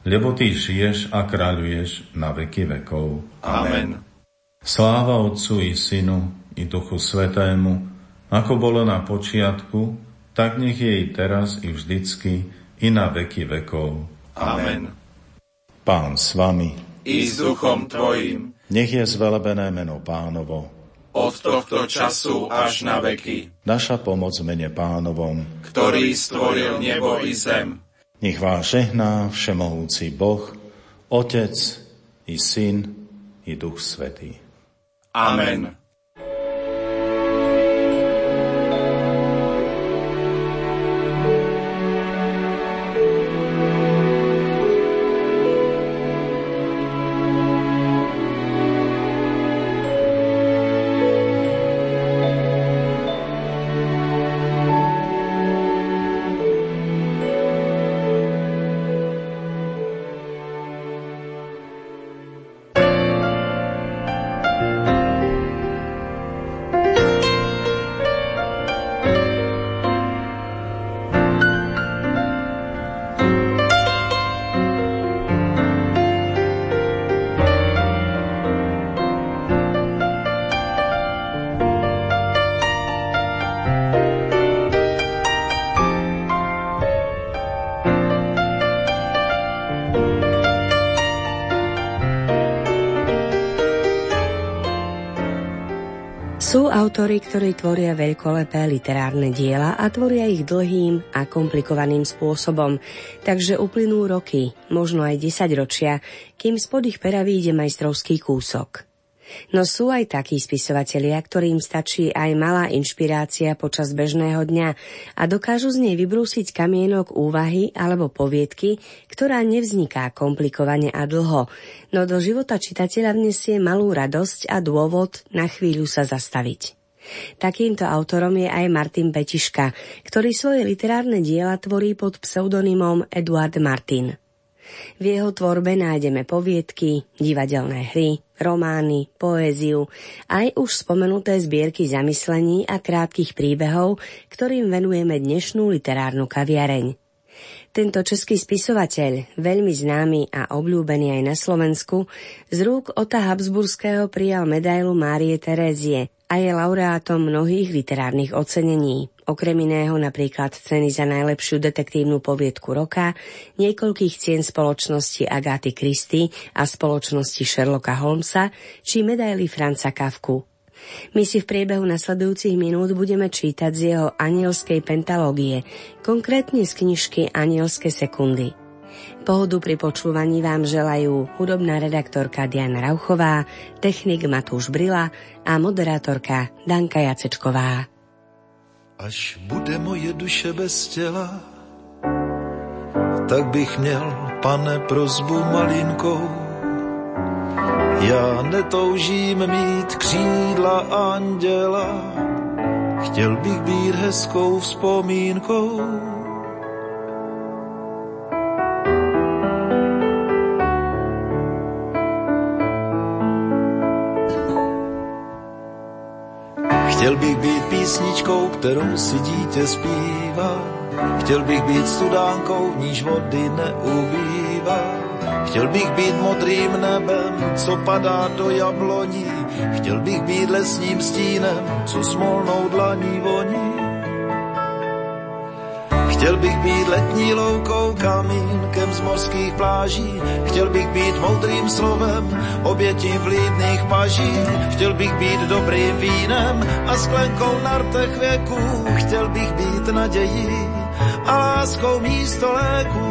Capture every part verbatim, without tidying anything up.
lebo Ty žiješ a kráľuješ na veky vekov. Amen. Sláva Otcu i Synu i Duchu Svätému, ako bolo na počiatku, tak nech je i teraz i vždycky i na veky vekov. Amen. Pán s vami. I s duchom tvojim. Nech je zvelebené meno Pánovo. Od tohto času až na veky. Naša pomoc v mene Pánovom, ktorý stvoril nebo i zem. Nech vás žehná všemohúci Boh, Otec i Syn i Duch Svätý. Amen. Sú autori, ktorí tvoria veľkolepé literárne diela a tvoria ich dlhým a komplikovaným spôsobom, takže uplynú roky, možno aj desaťročia, kým spod ich pera vyjde majstrovský kúsok. No sú aj takí spisovatelia, ktorým stačí aj malá inšpirácia počas bežného dňa a dokážu z nej vybrúsiť kamienok úvahy alebo poviedky, ktorá nevzniká komplikovane a dlho, no do života čitateľa vnesie malú radosť a dôvod na chvíľu sa zastaviť. Takýmto autorom je aj Martin Petiška, ktorý svoje literárne diela tvorí pod pseudonymom Eduard Martin. V jeho tvorbe nájdeme poviedky, divadelné hry, romány, poéziu, aj už spomenuté zbierky zamyslení a krátkych príbehov, ktorým venujeme dnešnú literárnu kaviareň. Tento český spisovateľ, veľmi známy a obľúbený aj na Slovensku, z rúk Ota Habsburského prijal medailu Márie Terézie a je laureátom mnohých literárnych ocenení. Okrem iného napríklad ceny za najlepšiu detektívnu poviedku roka, niekoľkých cien spoločnosti Agaty Christie a spoločnosti Sherlocka Holmesa či medaily Franza Kafku. My si v priebehu nasledujúcich minút budeme čítať z jeho anielskej pentalógie, konkrétne z knižky Anielské sekundy. Pohodu pri počúvaní vám želajú hudobná redaktorka Diana Rauchová, technik Matúš Brila a moderátorka Danka Jacečková. Až bude moje duše bez těla, tak bych měl, pane, prosbu malinkou. Já netoužím mít křídla anděla, chtěl bych být hezkou vzpomínkou. Chtěl bych být písničkou, kterou si dítě zpívá. Chtěl bych být studánkou, v níž vody neubývá. Chtěl bych být modrým nebem, co padá do jabloní. Chtěl bych být lesním stínem, co smolnou dlaní voní. Chtěl bych být letní loukou, kamínkem z mořských pláží. Chtěl bych být moudrým slovem, obětí vlídných paží. Chtěl bych být dobrým vínem a sklenkou na rtech věků. Chtěl bych být nadějí a láskou místo léků.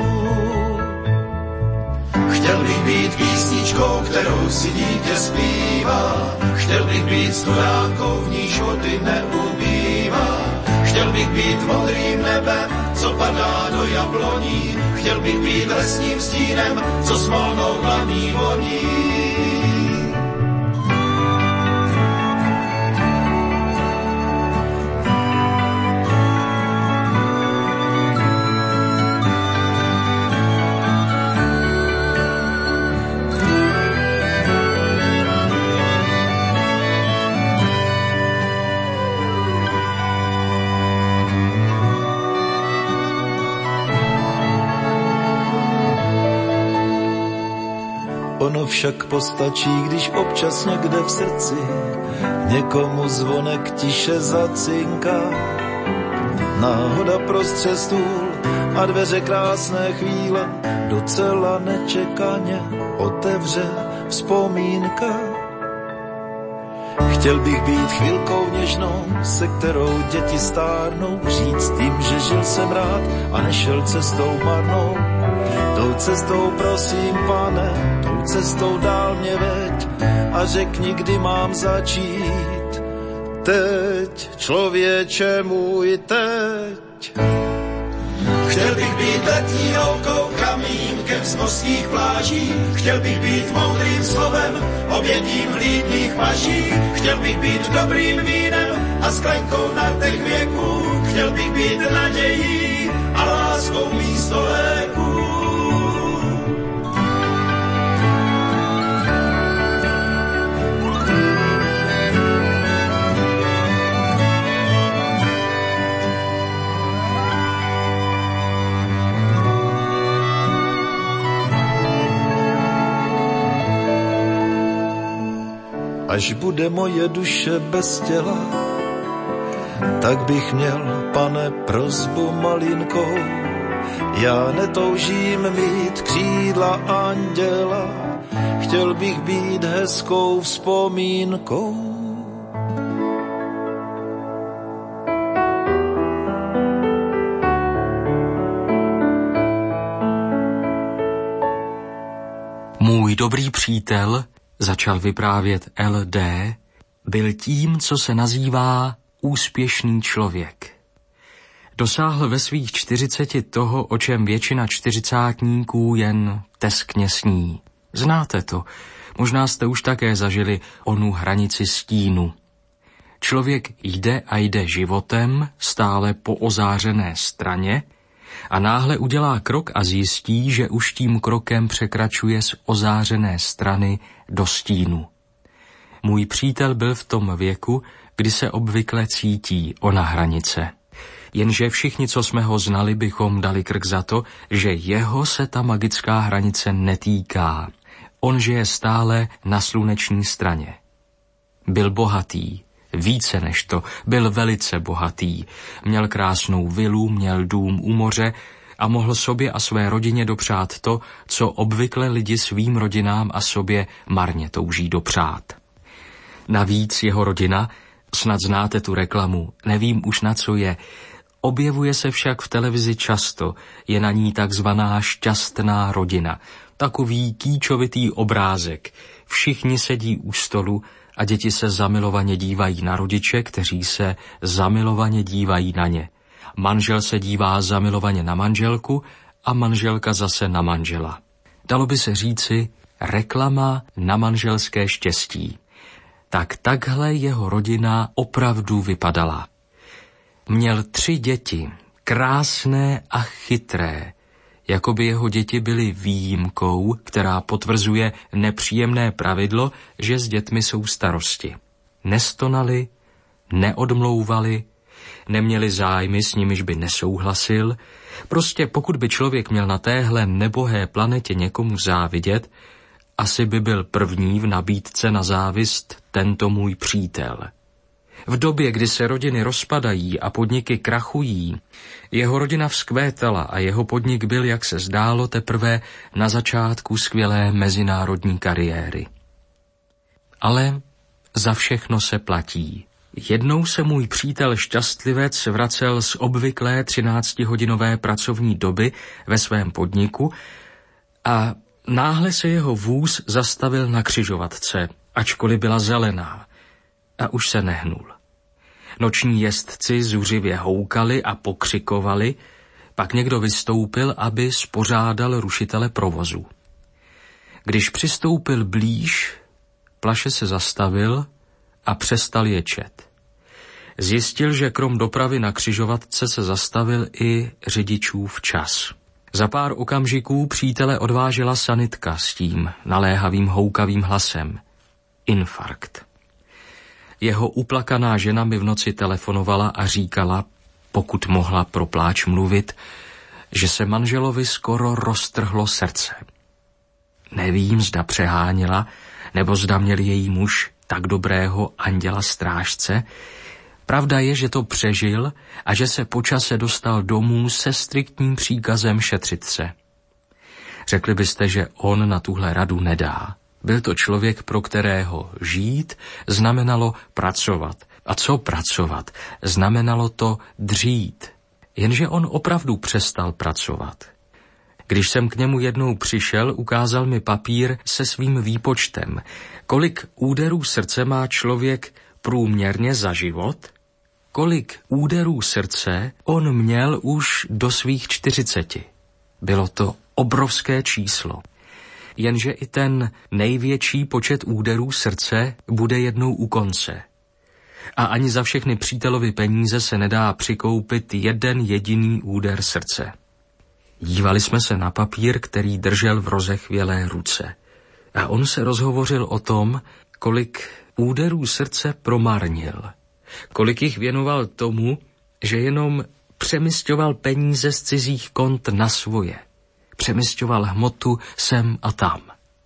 Chtěl bych být písničkou, kterou si dítě zpívá. Chtěl bych být studánkou, v níž vody neubývá. Chtěl bych být modrým nebem, co padá do jabloní. Chtěl bych být lesním stínem, co smolnou dlaní voní. Ono však postačí, když občas někde v srdci někomu zvonek tiše zacinká. Náhoda prostře stůl a dveře krásné chvíle docela nečekaně otevře vzpomínka. Chtěl bych být chvilkou něžnou, se kterou děti stárnou, říct jim, že žil jsem rád a nešel cestou marnou. Tou cestou prosím, pane, tou cestou dál mě veď a řekni, kdy mám začít. Teď, člověče můj, teď. Chtěl bych být letní loukou, kamínkem z mořských pláží. Chtěl bych být moudrým slovem, obětím vlídných paží. Chtěl bych být dobrým vínem a sklenkou na těch věků. Chtěl bych být nadějí a láskou místo léků. Až bude moje duše bez těla, tak bych měl, pane, prosbu malinkou. Já netoužím mít křídla anděla, chtěl bych být hezkou vzpomínkou. Můj dobrý přítel, začal vyprávět el dé, byl tím, co se nazývá úspěšný člověk. Dosáhl ve svých čtyřiceti toho, o čem většina čtyřicátníků jen teskně sní. Znáte to, možná jste už také zažili onu hranici stínu. Člověk jde a jde životem, stále po ozářené straně, a náhle udělá krok a zjistí, že už tím krokem překračuje z ozářené strany do stínu. Můj přítel byl v tom věku, kdy se obvykle cítí ona hranice. Jenže všichni, co jsme ho znali, bychom dali krk za to, že jeho se ta magická hranice netýká. On žije stále na sluneční straně. Byl bohatý. Více než to, byl velice bohatý. Měl krásnou vilu, měl dům u moře a mohl sobě a své rodině dopřát to, co obvykle lidi svým rodinám a sobě marně touží dopřát. Navíc jeho rodina, snad znáte tu reklamu, nevím už na co je, objevuje se však v televizi často, je na ní takzvaná šťastná rodina, takový kýčovitý obrázek, všichni sedí u stolu a děti se zamilovaně dívají na rodiče, kteří se zamilovaně dívají na ně. Manžel se dívá zamilovaně na manželku a manželka zase na manžela. Dalo by se říci reklama na manželské štěstí. Tak takhle jeho rodina opravdu vypadala. Měl tři děti, krásné a chytré, jako by jeho děti byly výjimkou, která potvrzuje nepříjemné pravidlo, že s dětmi jsou starosti. Nestonali, neodmlouvali, neměli zájmy, s nimiž by nesouhlasil. Prostě pokud by člověk měl na téhle nebohé planetě někomu závidět, asi by byl první v nabídce na závist tento můj přítel. V době, kdy se rodiny rozpadají a podniky krachují, jeho rodina vzkvétala a jeho podnik byl, jak se zdálo, teprve na začátku skvělé mezinárodní kariéry. Ale za všechno se platí. Jednou se můj přítel šťastlivec vracel z obvyklé třináctihodinové pracovní doby ve svém podniku a náhle se jeho vůz zastavil na křižovatce, ačkoliv byla zelená, a už se nehnul. Noční jezdci zuřivě houkali a pokřikovali, pak někdo vystoupil, aby spořádal rušitele provozu. Když přistoupil blíž, plaše se zastavil a přestal ječet. Zjistil, že krom dopravy na křižovatce se zastavil i řidičův čas. Za pár okamžiků přítele odvážela sanitka s tím naléhavým houkavým hlasem. Infarkt. Jeho uplakaná žena mi v noci telefonovala a říkala, pokud mohla pro pláč mluvit, že se manželovi skoro roztrhlo srdce. Nevím, zda přeháněla, nebo zda měl její muž tak dobrého anděla strážce. Pravda je, že to přežil a že se po čase dostal domů se striktním příkazem šetřit se. Řekli byste, že on na tuhle radu nedá. Byl to člověk, pro kterého žít znamenalo pracovat. A co pracovat? Znamenalo to dřít. Jenže on opravdu přestal pracovat. Když jsem k němu jednou přišel, ukázal mi papír se svým výpočtem. Kolik úderů srdce má člověk průměrně za život? Kolik úderů srdce on měl už do svých čtyřiceti? Bylo to obrovské číslo. Jenže i ten největší počet úderů srdce bude jednou u konce. A ani za všechny přítelovy peníze se nedá přikoupit jeden jediný úder srdce. Dívali jsme se na papír, který držel v rozechvělé ruce. A on se rozhovořil o tom, kolik úderů srdce promarnil. Kolik jich věnoval tomu, že jenom přemisťoval peníze z cizích kont na svoje. Přemisťoval hmotu sem a tam.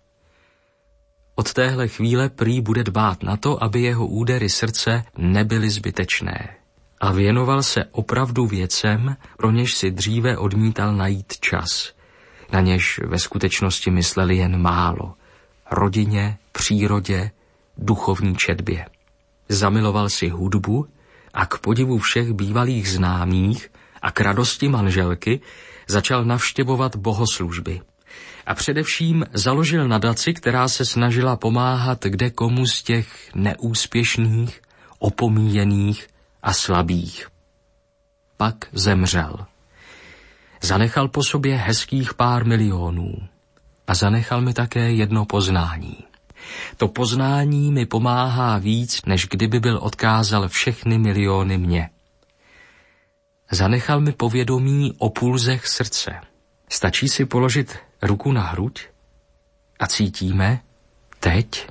Od téhle chvíle prý bude dbát na to, aby jeho údery srdce nebyly zbytečné. A věnoval se opravdu věcem, pro něž si dříve odmítal najít čas. Na něž ve skutečnosti mysleli jen málo. Rodině, přírodě, duchovní četbě. Zamiloval si hudbu a k podivu všech bývalých známých a k radosti manželky začal navštěvovat bohoslužby. A především založil nadaci, která se snažila pomáhat kde komu z těch neúspěšných, opomíjených a slabých. Pak zemřel. Zanechal po sobě hezkých pár milionů. A zanechal mi také jedno poznání. To poznání mi pomáhá víc, než kdyby byl odkázal všechny miliony mě. Zanechal mi povědomí o pulzech srdce. Stačí si položit ruku na hruď a cítíme teď,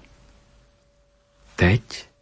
teď,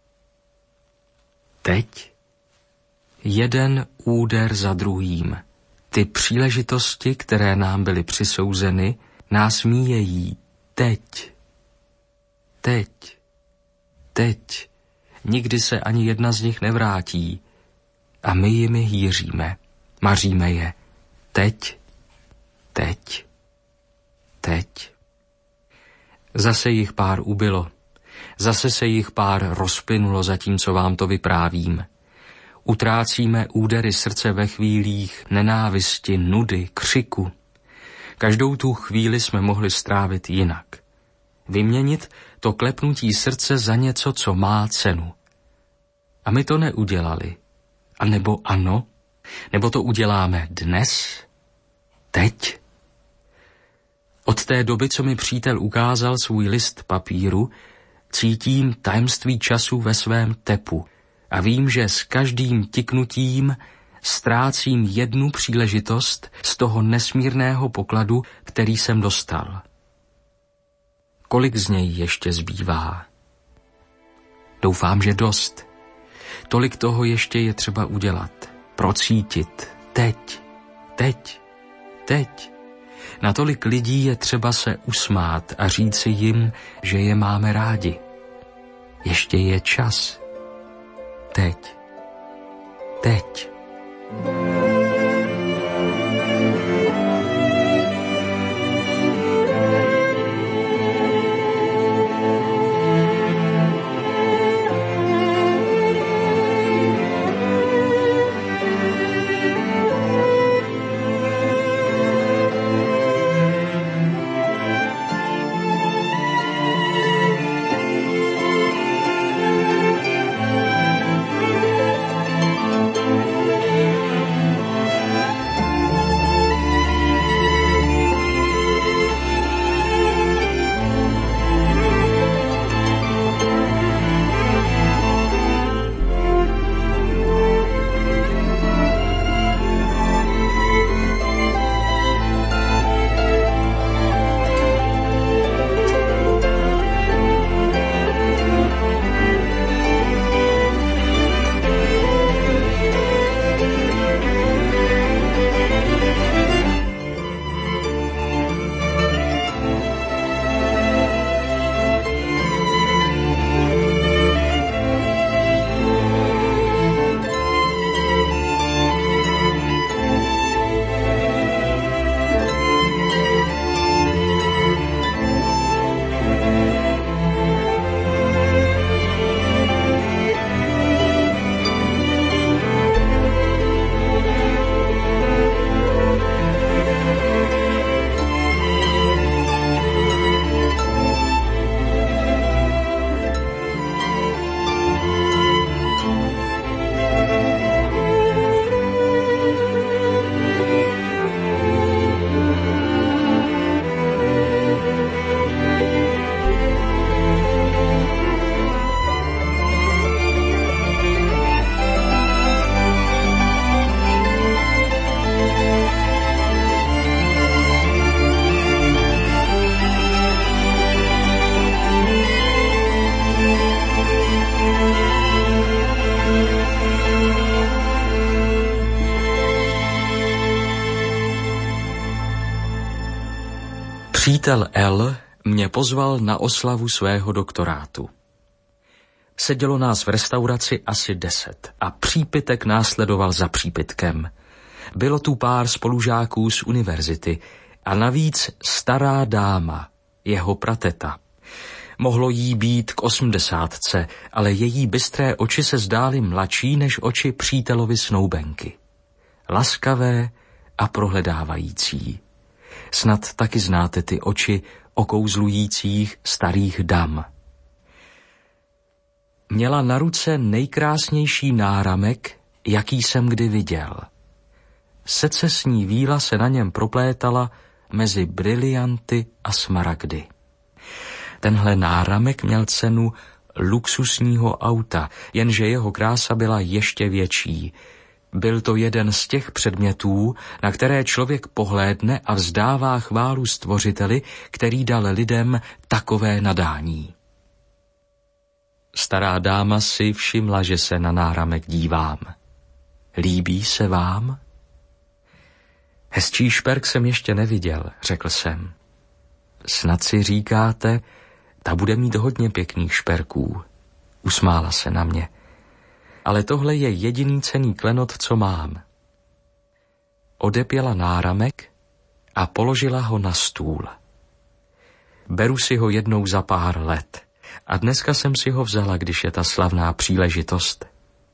teď, jeden úder za druhým. Ty příležitosti, které nám byly přisouzeny, nás míjejí teď, teď, teď. Nikdy se ani jedna z nich nevrátí a my jimi hýříme, maříme je teď, teď, teď. Zase jich pár ubylo, zase se jich pár rozplynulo, zatímco vám to vyprávím. Utrácíme údery srdce ve chvílích nenávisti, nudy, křiku. Každou tu chvíli jsme mohli strávit jinak. Vyměnit to klepnutí srdce za něco, co má cenu. A my to neudělali. A nebo ano? Nebo to uděláme dnes? Teď? Od té doby, co mi přítel ukázal svůj list papíru, cítím tajemství času ve svém tepu a vím, že s každým tiknutím ztrácím jednu příležitost z toho nesmírného pokladu, který jsem dostal. Kolik z něj ještě zbývá? Doufám, že dost. Tolik toho ještě je třeba udělat, procítit, teď, teď, teď. Na tolik lidí je třeba se usmát a říci jim, že je máme rádi. Ještě je čas. Teď. Teď. Přítel L mě pozval na oslavu svého doktorátu. Sedělo nás v restauraci asi deset a přípitek následoval za přípitkem. Bylo tu pár spolužáků z univerzity a navíc stará dáma, jeho prateta. Mohlo jí být k osmdesátce, ale její bystré oči se zdály mladší než oči přítelovi snoubenky. Laskavé a prohledávající. Snad taky znáte ty oči okouzlujících starých dam. Měla na ruce nejkrásnější náramek, jaký jsem kdy viděl. Secesní víla se na něm proplétala mezi brilianty a smaragdy. Tenhle náramek měl cenu luxusního auta, jenže jeho krása byla ještě větší. Byl to jeden z těch předmětů, na které člověk pohlédne a vzdává chválu Stvořiteli, který dal lidem takové nadání. Stará dáma si všimla, že se na náramek dívám. Líbí se vám? Hezčí šperk jsem ještě neviděl, řekl jsem. Snad si říkáte, ta bude mít hodně pěkných šperků. Usmála se na mě. Ale tohle je jediný cenný klenot, co mám. Odepěla náramek a položila ho na stůl. Beru si ho jednou za pár let a dneska jsem si ho vzala, když je ta slavná příležitost.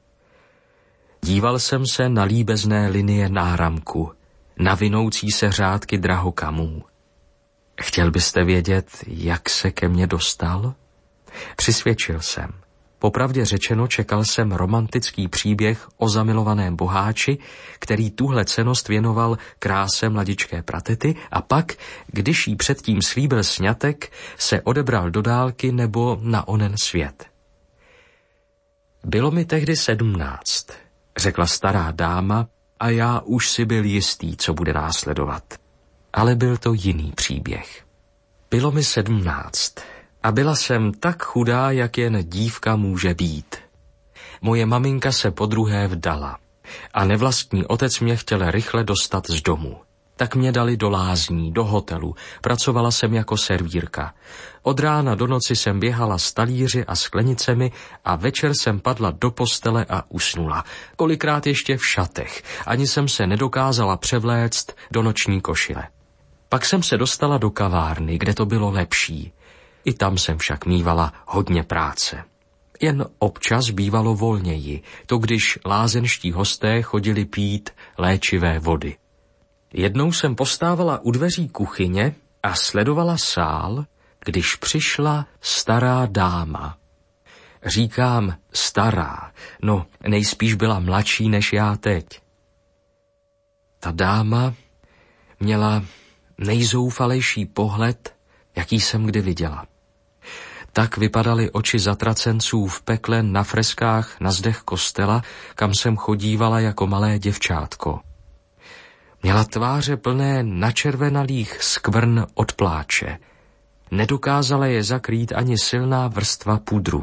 Díval jsem se na líbezné linie náramku, na vinoucí se řádky drahokamů. Chtěl byste vědět, jak se ke mně dostal? Přisvědčil jsem. Popravdě řečeno, čekal jsem romantický příběh o zamilovaném boháči, který tuhle cennost věnoval kráse mladičké pratety a pak, když jí předtím slíbil sňatek, se odebral do dálky nebo na onen svět. Bylo mi tehdy sedmnáct, řekla stará dáma, a já už si byl jistý, co bude následovat. Ale byl to jiný příběh. Bylo mi sedmnáct a byla jsem tak chudá, jak jen dívka může být. Moje maminka se podruhé vdala a nevlastní otec mě chtěl rychle dostat z domu. Tak mě dali do lázní, do hotelu. Pracovala jsem jako servírka. Od rána do noci jsem běhala s talíři a sklenicemi a večer jsem padla do postele a usnula. Kolikrát ještě v šatech. Ani jsem se nedokázala převléct do noční košile. Pak jsem se dostala do kavárny, kde to bylo lepší. I tam jsem však mívala hodně práce. Jen občas bývalo volněji, to když lázeňští hosté chodili pít léčivé vody. Jednou jsem postávala u dveří kuchyně a sledovala sál, když přišla stará dáma. Říkám stará, no nejspíš byla mladší než já teď. Ta dáma měla nejzoufalejší pohled, jaký jsem kdy viděla. Tak vypadaly oči zatracenců v pekle na freskách na zdech kostela, kam jsem chodívala jako malé děvčátko. Měla tváře plné načervenalých skvrn od pláče. Nedokázala je zakrýt ani silná vrstva pudru.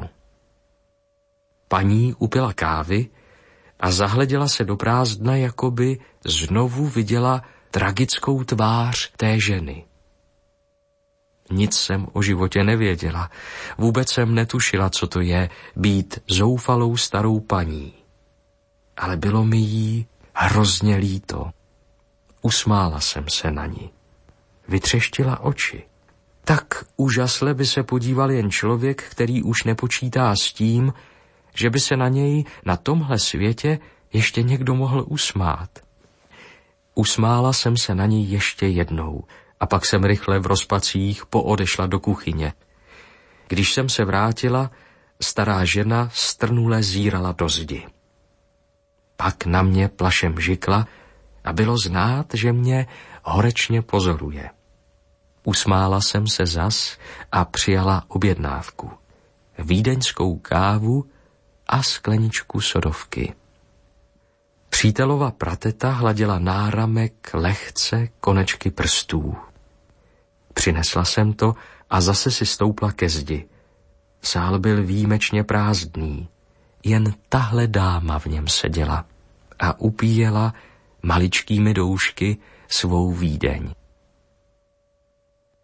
Paní upila kávy a zahleděla se do prázdna, jako by znovu viděla tragickou tvář té ženy. Nic jsem o životě nevěděla. Vůbec jsem netušila, co to je být zoufalou starou paní. Ale bylo mi jí hrozně líto. Usmála jsem se na ní. Vytřeštila oči. Tak úžasle by se podíval jen člověk, který už nepočítá s tím, že by se na něj na tomhle světě ještě někdo mohl usmát. Usmála jsem se na ní ještě jednou a pak jsem rychle v rozpacích poodešla do kuchyně. Když jsem se vrátila, stará žena strnule zírala do zdi. Pak na mě plašem žikla a bylo znát, že mě horečně pozoruje. Usmála jsem se zas a přijala objednávku. Vídeňskou kávu a skleničku sodovky. Přítelova prateta hladila náramek lehce konečky prstů. Přinesla jsem to a zase si stoupla ke zdi. Sál byl výjimečně prázdný. Jen tahle dáma v něm seděla a upíjela maličkými doušky svou Vídeň.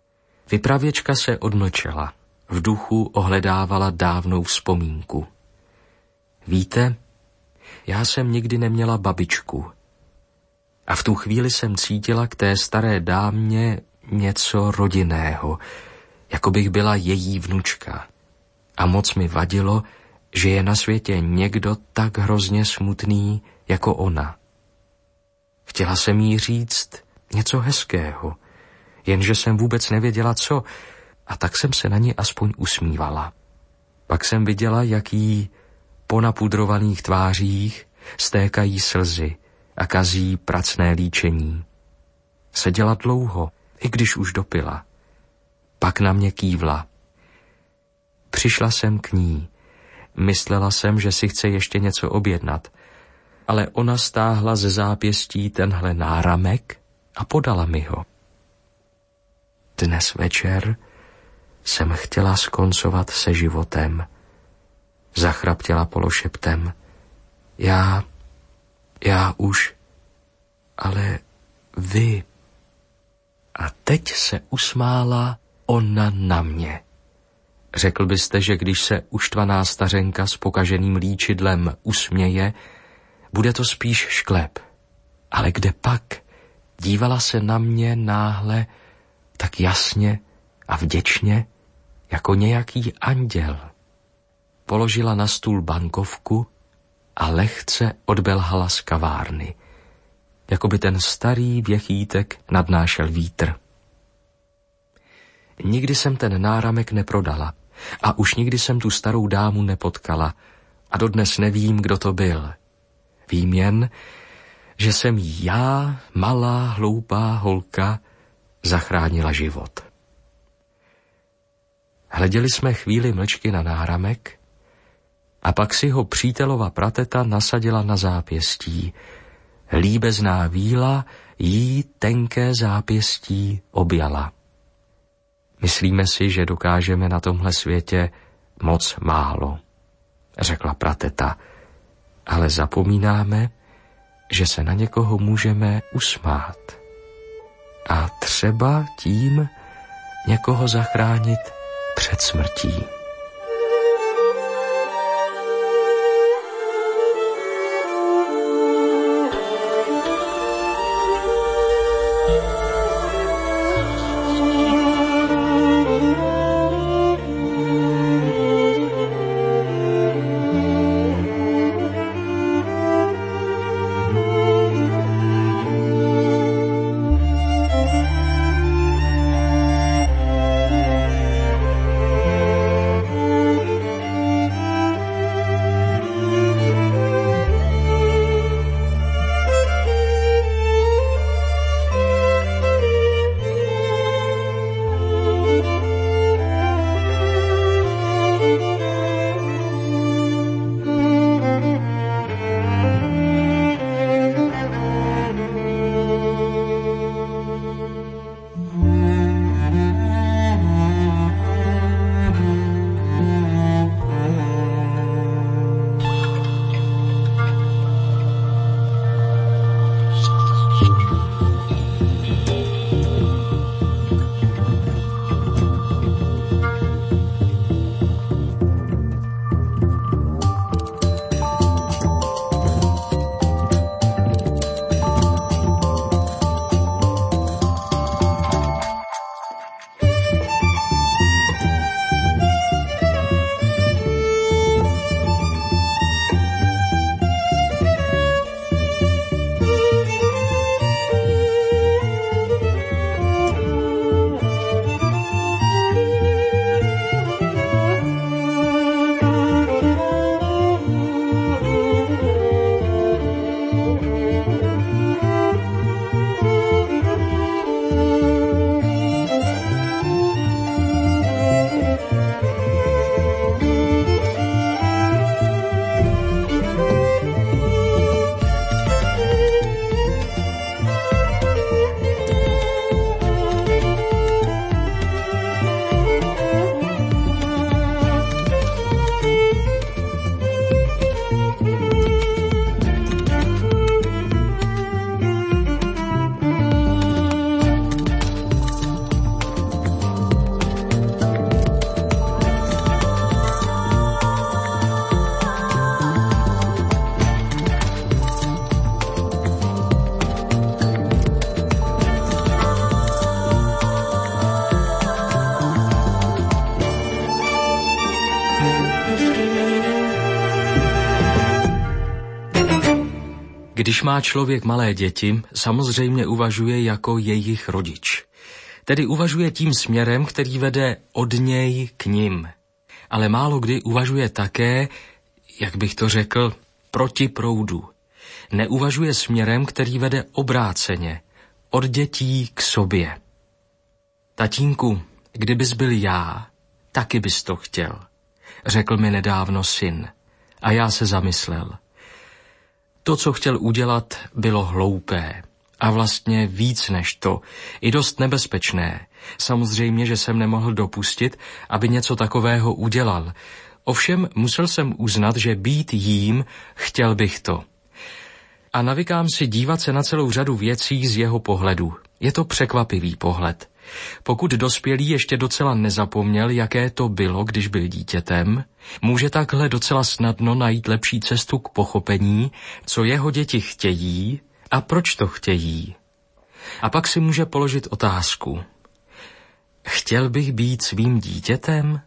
Vypravěčka se odmlčela. V duchu ohledávala dávnou vzpomínku. Víte, já jsem nikdy neměla babičku. A v tu chvíli jsem cítila k té staré dámě něco rodinného, jako bych byla její vnučka. A moc mi vadilo, že je na světě někdo tak hrozně smutný jako ona. Chtěla jsem jí říct něco hezkého, jenže jsem vůbec nevěděla co, a tak jsem se na ní aspoň usmívala. Pak jsem viděla, jak jí po napudrovaných tvářích stékají slzy a kazí pracné líčení. Seděla dlouho, i když už dopila. Pak na mě kývla. Přišla jsem k ní. Myslela jsem, že si chce ještě něco objednat, ale ona stáhla ze zápěstí tenhle náramek a podala mi ho. Dnes večer jsem chtěla skoncovat se životem. Zachraptěla pološeptem. Já, já už, ale vy. A teď se usmála ona na mě. Řekl byste, že když se uštvaná stařenka s pokaženým líčidlem usměje, bude to spíš šklep. Ale kde pak? Dívala se na mě náhle tak jasně a vděčně, jako nějaký anděl. Položila na stůl bankovku a lehce odbelhala z kavárny, jako by ten starý věchýtek nadnášel vítr. Nikdy jsem ten náramek neprodala a už nikdy jsem tu starou dámu nepotkala a dodnes nevím, kdo to byl. Vím jen, že jsem jí já, malá, hloupá holka, zachránila život. Hleděli jsme chvíli mlčky na náramek a pak si ho přítelova prateta nasadila na zápěstí. Líbezná víla jí tenké zápěstí objala. Myslíme si, že dokážeme na tomhle světě moc málo, řekla prateta, ale zapomínáme, že se na někoho můžeme usmát. A třeba tím někoho zachránit před smrtí. Když má člověk malé děti, samozřejmě uvažuje jako jejich rodič. Tedy uvažuje tím směrem, který vede od něj k nim. Ale málo kdy uvažuje také, jak bych to řekl, proti proudu. Neuvažuje směrem, který vede obráceně, od dětí k sobě. Tatínku, kdybys byl já, taky bys to chtěl, řekl mi nedávno syn. A já se zamyslel. To, co chtěl udělat, bylo hloupé. A vlastně víc než to, i dost nebezpečné. Samozřejmě, že jsem nemohl dopustit, aby něco takového udělal. Ovšem musel jsem uznat, že být jím, chtěl bych to. A navykám si dívat se na celou řadu věcí z jeho pohledu. Je to překvapivý pohled. Pokud dospělý ještě docela nezapomněl, jaké to bylo, když byl dítětem, může takhle docela snadno najít lepší cestu k pochopení, co jeho děti chtějí a proč to chtějí. A pak si může položit otázku. Chtěl bych být svým dítětem?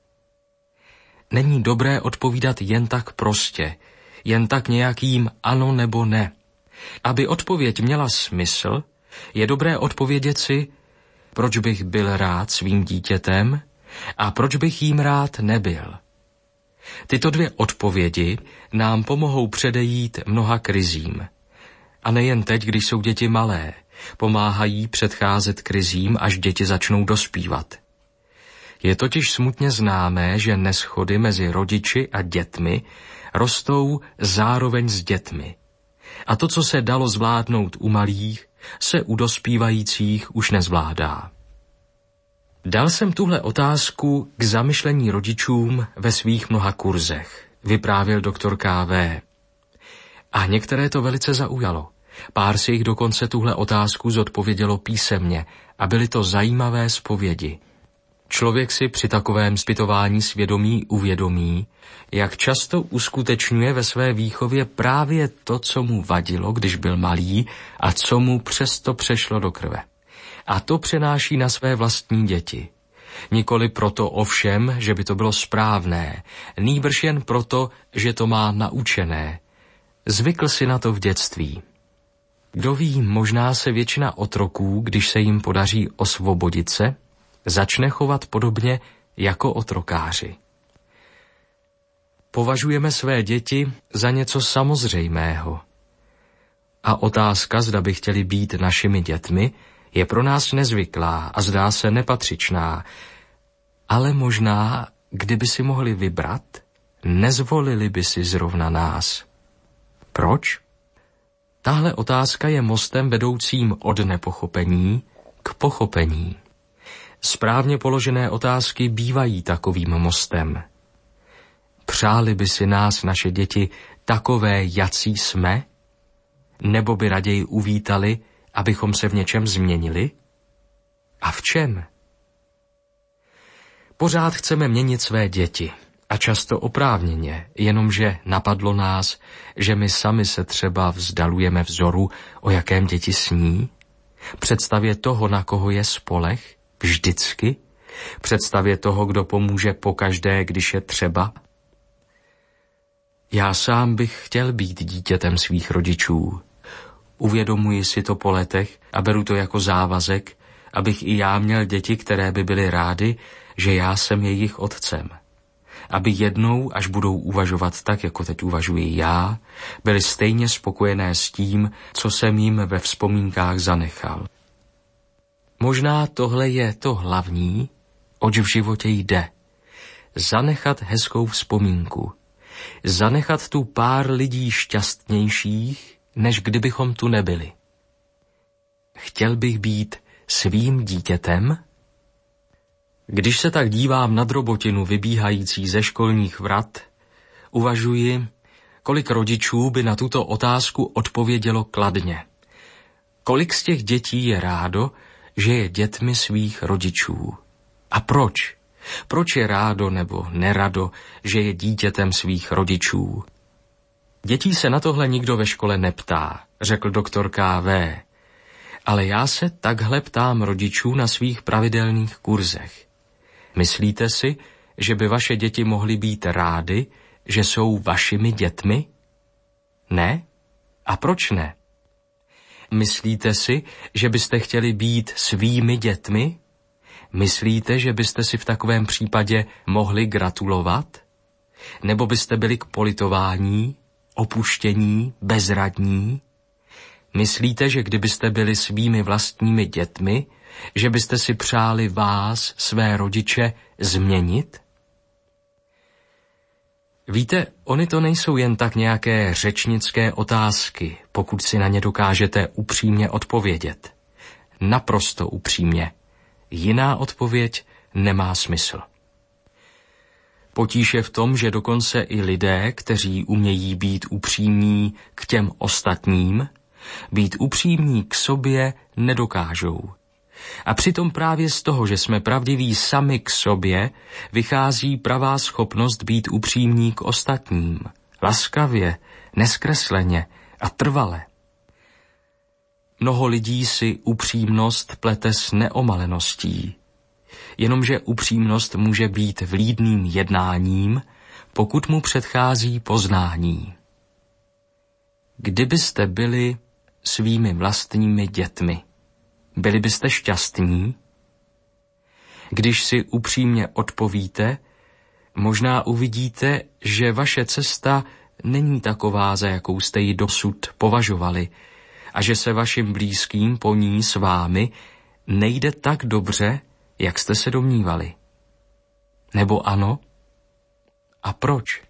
Není dobré odpovídat jen tak prostě, jen tak nějakým ano nebo ne. Aby odpověď měla smysl, je dobré odpovědět si, proč bych byl rád svým dítětem a proč bych jím rád nebyl. Tyto dvě odpovědi nám pomohou předejít mnoha krizím. A nejen teď, když jsou děti malé, pomáhají předcházet krizím, až děti začnou dospívat. Je totiž smutně známé, že neshody mezi rodiči a dětmi rostou zároveň s dětmi. A to, co se dalo zvládnout u malých, se u dospívajících už nezvládá. Dal jsem tuhle otázku k zamyšlení rodičům ve svých mnoha kurzech, vyprávěl doktor K V. A některé to velice zaujalo. Pár si jich dokonce tuhle otázku zodpovědělo písemně a byly to zajímavé zpovědi. Člověk si při takovém zpytování svědomí uvědomí, jak často uskutečňuje ve své výchově právě to, co mu vadilo, když byl malý a co mu přesto přešlo do krve. A to přenáší na své vlastní děti. Nikoli proto ovšem, že by to bylo správné, nýbrž jen proto, že to má naučené. Zvykl si na to v dětství. Kdo ví, možná se většina otroků, když se jim podaří osvobodit se, začne chovat podobně jako otrokáři. Považujeme své děti za něco samozřejmého. A otázka, zda by chtěli být našimi dětmi, je pro nás nezvyklá a zdá se nepatřičná. Ale možná, kdyby si mohli vybrat, nezvolili by si zrovna nás. Proč? Tahle otázka je mostem vedoucím od nepochopení k pochopení. Správně položené otázky bývají takovým mostem. Přáli by si nás naše děti takové, jací jsme? Nebo by raději uvítali, abychom se v něčem změnili? A v čem? Pořád chceme měnit své děti. A často oprávněně, jenomže napadlo nás, že my sami se třeba vzdalujeme vzoru, o jakém děti sní, představě toho, na koho je spoleh, vždycky, představě toho, kdo pomůže pokaždé, když je třeba. Já sám bych chtěl být dítětem svých rodičů. Uvědomuji si to po letech a beru to jako závazek, abych i já měl děti, které by byly rády, že já jsem jejich otcem. Aby jednou, až budou uvažovat tak, jako teď uvažuji já, byli stejně spokojené s tím, co jsem jim ve vzpomínkách zanechal. Možná tohle je to hlavní, oč v životě jde. Zanechat hezkou vzpomínku. Zanechat tu pár lidí šťastnějších, než kdybychom tu nebyli. Chtěl bych být svým dítětem? Když se tak dívám na drobotinu vybíhající ze školních vrat, uvažuji, kolik rodičů by na tuto otázku odpovědělo kladně. Kolik z těch dětí je rádo, že je dětmi svých rodičů? A proč? Proč je rádo nebo nerado, že je dítětem svých rodičů? Dětí se na tohle nikdo ve škole neptá, řekl doktor K V. Ale já se takhle ptám rodičů na svých pravidelných kurzech. Myslíte si, že by vaše děti mohly být rády, že jsou vašimi dětmi? Ne? A proč ne? Myslíte si, že byste chtěli být svými dětmi? Myslíte, že byste si v takovém případě mohli gratulovat? Nebo byste byli k politování, opuštění, bezradní? Myslíte, že kdybyste byli svými vlastními dětmi, že byste si přáli vás, své rodiče, změnit? Víte, ony to nejsou jen tak nějaké řečnické otázky, pokud si na ně dokážete upřímně odpovědět. Naprosto upřímně. Jiná odpověď nemá smysl. Potíž je v tom, že dokonce i lidé, kteří umějí být upřímní k těm ostatním, být upřímní k sobě nedokážou. A přitom právě z toho, že jsme pravdiví sami k sobě, vychází pravá schopnost být upřímní k ostatním. Laskavě, neskresleně a trvale. Mnoho lidí si upřímnost plete s neomaleností. Jenomže upřímnost může být vlídným jednáním, pokud mu předchází poznání. Kdybyste byli svými vlastními dětmi, byli byste šťastní? Když si upřímně odpovíte, možná uvidíte, že vaše cesta není taková, za jakou jste ji dosud považovali, a že se vašim blízkým po ní s vámi nejde tak dobře, jak jste se domnívali. Nebo ano? A proč?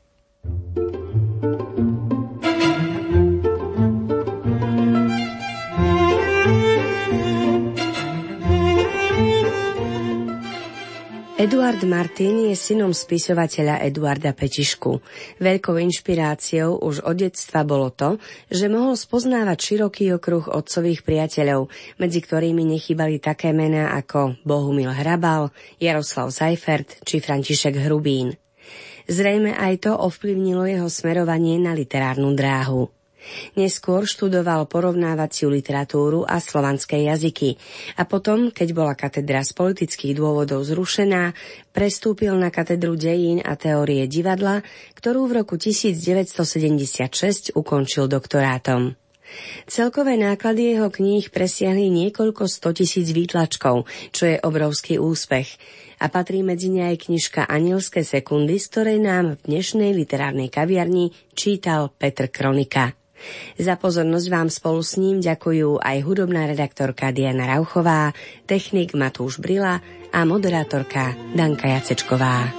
Eduard Martin je synom spisovateľa Eduarda Petišku. Veľkou inšpiráciou už od detstva bolo to, že mohol spoznávať široký okruh otcových priateľov, medzi ktorými nechýbali také mená ako Bohumil Hrabal, Jaroslav Seifert či František Hrubín. Zrejme aj to ovplyvnilo jeho smerovanie na literárnu dráhu. Neskôr študoval porovnávaciu literatúru a slovanské jazyky a potom, keď bola katedra z politických dôvodov zrušená, prestúpil na katedru dejín a teórie divadla, ktorú v roku devätnásťstosedemdesiatšesť ukončil doktorátom. Celkové náklady jeho kníh presiahli niekoľko stotisíc výtlačkov, čo je obrovský úspech, a patrí medzi ne aj knižka Anielské sekundy, z ktorej nám v dnešnej literárnej kaviarni čítal Petr Kronika. Za pozornosť vám spolu s ním ďakujú aj hudobná redaktorka Diana Rauchová, technik Matúš Brila a moderátorka Danka Jacečková.